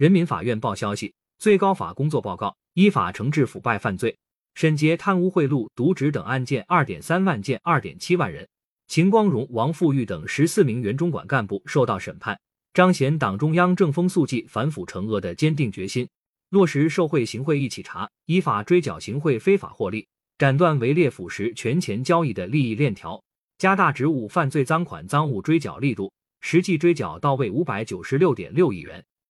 人民法院报消息，最高法工作报告依法惩治腐败犯罪，审结贪污贿赂、渎职等案件 2.3 万件 2.7 万人。秦光荣、王富玉等14名原中管干部受到审判，彰显党中央正风肃纪、反腐惩恶的坚定决心，落实受贿行贿一起查，依法追缴行贿非法获利，斩断围猎腐蚀权钱交易的利益链条，加大职务犯罪赃款赃物追缴力度，实际追缴到位596.6亿元。